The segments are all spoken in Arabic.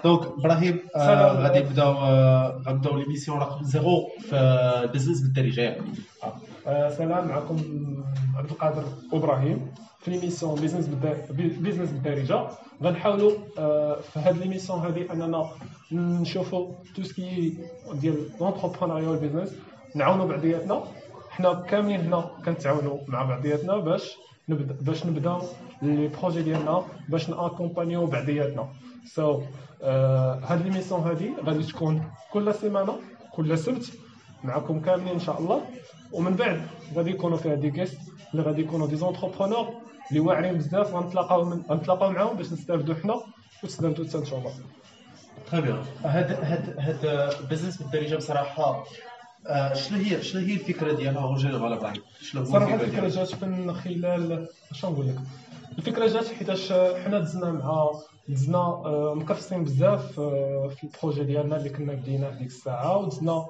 دونك ابراهيم سلام. غادي غنبداو ليميسيون رقم 0 في البزنس بالدارجه ياك. سلام، معكم عبد القادر ابراهيم في ليميسيون بيزنس بالدارجه. غنحاولوا في هذه ليميسيون هذه اننا نشوفوا تو سكي ديال لونتربرونيا والبيزنس، نعاونوا بعضياتنا. حنا كاملين هنا كنتعاونوا مع بعضياتنا باش نبداو لي بروجي ديالنا، باش ناكومبانيو بعضياتنا. سو هاد ليميسيون هادي غادي تكون كل سيمانه، كل سبت، معكم كاملين ان شاء الله. ومن بعد غادي يكونوا فيها دي جيست اللي غادي يكونوا دي زونتربرونور اللي واعرين بزاف، غنتلاقاو معاهم باش نستافدوا حنا وتستافدوا حتى نتوما. تري بيان. هاد البزنس بالدارجه بصراحه شنو هي الفكره ديالها اون جينيرال ابراهيم؟ شنو هو صراحه الفكره الفكره ديالها؟ جات من خلال اش نقول لك. الفكره جات حيتاش حنا دزنا مكفصين بزاف في البروجي ديالنا اللي كنا بديناه ديك الساعه، ودزنا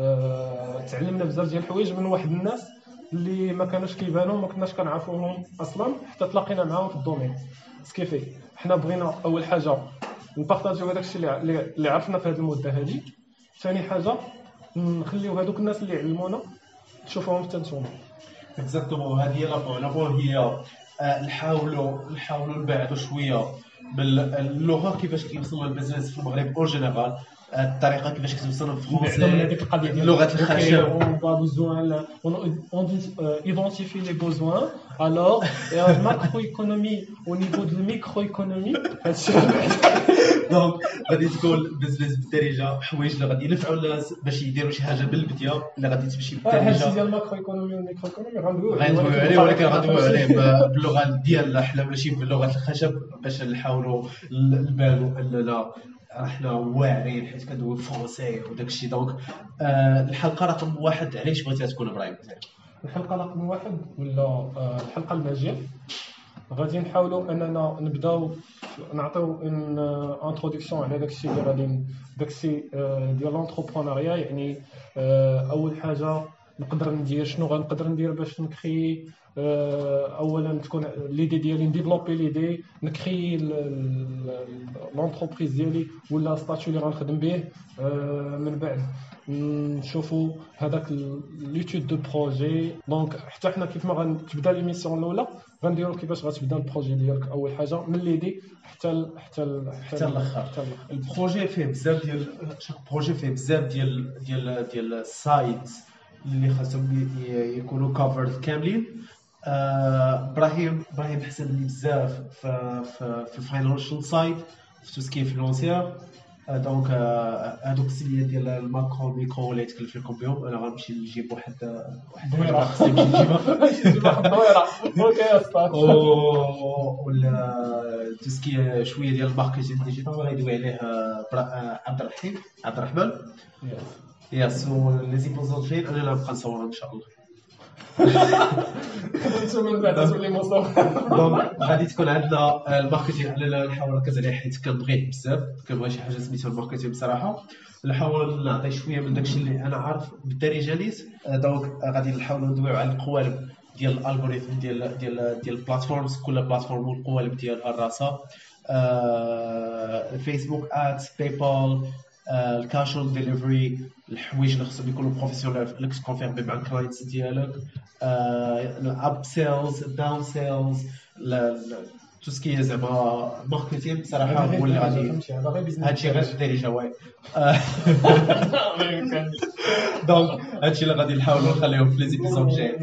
تعلمنا بزاف ديال الحوايج من واحد الناس اللي ما كانوش كيبانوا، ما كناش كنعرفوهم اصلا، حتى تلاقينا معاهم في الدومين. سكيفي حنا بغينا اول حاجه نبارطاجيو هذاك الشيء اللي عرفنا في هذه المده هذه. ثاني حاجه نخليو هذوك الناس اللي علمونا تشوفوهم حتى نتوما. اكزاكتومون هذه هي لا بوين هي نحاولوا نبعدوا شويه باللغه كيفاش كيوصلوا البزنس في المغرب اون جينيرال، الطريقه كيفاش كتوصلوا في بعدا من فرونسي، هذيك القضيه ديال لغه الخشب. اون با بوزوان اون ايدونتيفي لي بوزوان. الوغ الماكرو ايكونومي او نيفو دو الميكرو ايكونومي هادشي. دونك غادي تكون البزنس بالدارجه حوايج اللي غادي ينفعوا الناس باش يديروا شي حاجه بالبديه اللي غادي تمشي هادشي بالدارجه. ديال الماكرو ايكونومي والميكرو ايكونومي غندويو عليه ولكن غندويو عليه باللغه ديالنا حنا ماشي بلغه الخشب، باش نحاولوا نبانوا اننا احنا واعرين حيت كندويو فرونسي وداك الشيء. دونك الحلقه رقم 1 علاش بغيتها تكون ابراهيم؟ الحلقه رقم 1 ولا الحلقه الماجيه غادي نحاولوا اننا نبداو نعطيو ان انتروداكسيون على داكشي اللي غادي داكشي ديال لونتربرونيا. يعني اول حاجه نقدر ندير شنو غنقدر ندير باش نكري. اولا تكون ليدي ديالي نديفلوبي ليدي نكري لونتربريز ديالي ولا ستاتيو اللي غنخدم به. من بعد نشوفوا هذاك ليتود دو بروجي. دونك حتى حنا كيف ما غتبدا ليميسيون الاولى غنديروا كيفاش غتبدا البروجي ديالك اول حاجه من ليدي حتى الاخر. البروجي فيه بزاف ديال شاك بروجي فيه بزاف ديال السايت اللي خاصهم يكونوا كافرد كاملين. ابراهيم حسن بزاف في الفاينانشال سايد، في توسكي فينونسيير. دونك هذوك السيديات ديال الماكرو ميكرو اللي يتكلف لكم بهم، انا غنمشي نجيب واحد دويره خصني نمشي نجيبها دويره. اوكي يا استاذ. ولا توسكي شويه ديال الماركتينغ ديجيتال غيدوي عليه عبد الرحمن. يس لي زيبوزون جايين انا لا نبقى نصور ان شاء الله. انتم من بعد تولي مصور. دونك غادي تكون عندنا الماركتينغ، انا نحاول نركز عليه حيت كنبغيه بزاف، كنبغي شي حاجه سميتها الماركتينغ بصراحه. نحاول نعطي شويه من داكشي اللي انا عارف بالدارجه نيت. دونك غادي نحاولوا ندويو على القوالب ديال الالغوريثم ديال البلاتفورمز، كل بلاتفورم والقوالب ديالها الراسها. الفيسبوك ادز، باي بال، الكاش اون ديليفري، الحوايج اللي خصهم يكونوا بروفيسيونيل اللي كتكونفيرمي مع الكلاينتس ديالك. الاب سيلز، الداون سيلز، تو سكي زعما ماركتينغ بصراحه هو اللي غادي هادشي غير الدارجه واي. دونك هادشي اللي غادي نحاولوا نخليهم في لي زيبيزود جايين.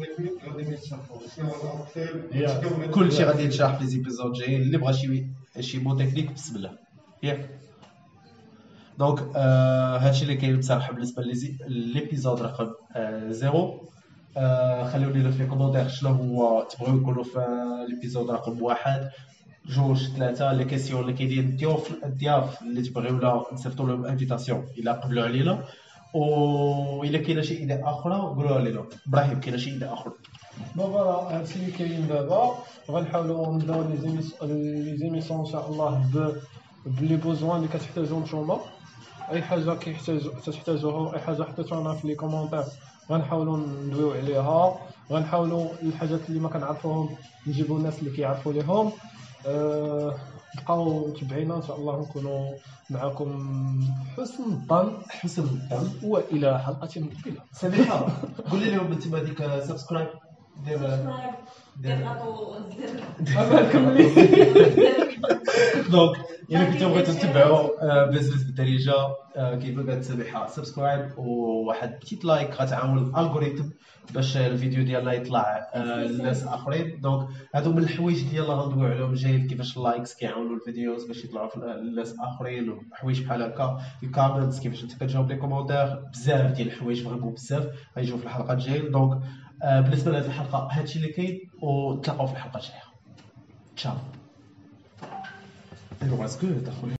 كلشي غادي يتشرح في لي زيبيزود جايين. اللي بغى شي مو تكنيك بسم الله ياك. دونك هادشي اللي كاين بصراحه بالنسبه لليبيزود رقم 0. خليوني لنا في كومونتير شنو هو تبغيو نقولوا في ليبيزود رقم 1 2 3 لي كيسيون اللي كاينين الضياف اللي تبغيونا نصيفطوا لهم انفيتاسيون الا قبلوا علينا. والا كاينه شي ايديا اخرى قولوها لنا. ابراهيم كاينه شي ايديا اخرى؟ فوالا هادشي اللي كاين دابا. غنحاولوا نبداو لي زيميسيون ان شاء الله بلي بوزوان اللي كتحتاجوا نتوما. اي حاجه تحتاجوها، اي حاجه حطيتوها في لي كومونتير غنحاولوا ندويو عليها. غنحاولوا الحاجات اللي ما كنعرفوهم نجيبوا الناس اللي كيعرفوا ليهم. بقاو متابعينا ان شاء الله نكونوا معكم حسن الظن حسن الظن. والى حلقه مقبله. سميحه قولي لهم انت هذيك سبسكرايب دير دونك الا كنتو بغيتو تتبعوا بيزنس بالدارجه كيف قالت سميحه سبسكرايب وواحد بتيت لايك غتعاون الالغوريثم باش الفيديو ديالنا يطلع للناس اخرين. دونك هادو من الحوايج ديالنا غندويو عليهم جاي كيفاش اللايكس كيعاونوا الفيديوز باش يطلعوا للناس اخرين وحوايج بحال هكا الكومنتس كيفاش انت كتجاوب لي كومونتير بزاف ديال الحوايج فريمون بزاف غيجيو في الحلقات الجايه. دونك بالنسبه لهاد الحلقه هادشي اللي كاين ونتلاقاو في الحلقه الجايه. تشاو. It was good.